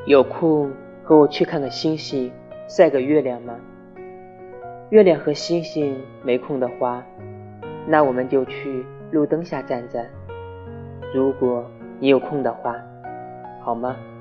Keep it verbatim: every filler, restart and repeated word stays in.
有空和我去看个星星，晒个月亮吗？月亮和星星没空的话，那我们就去路灯下站站，如果你有空的话，好吗？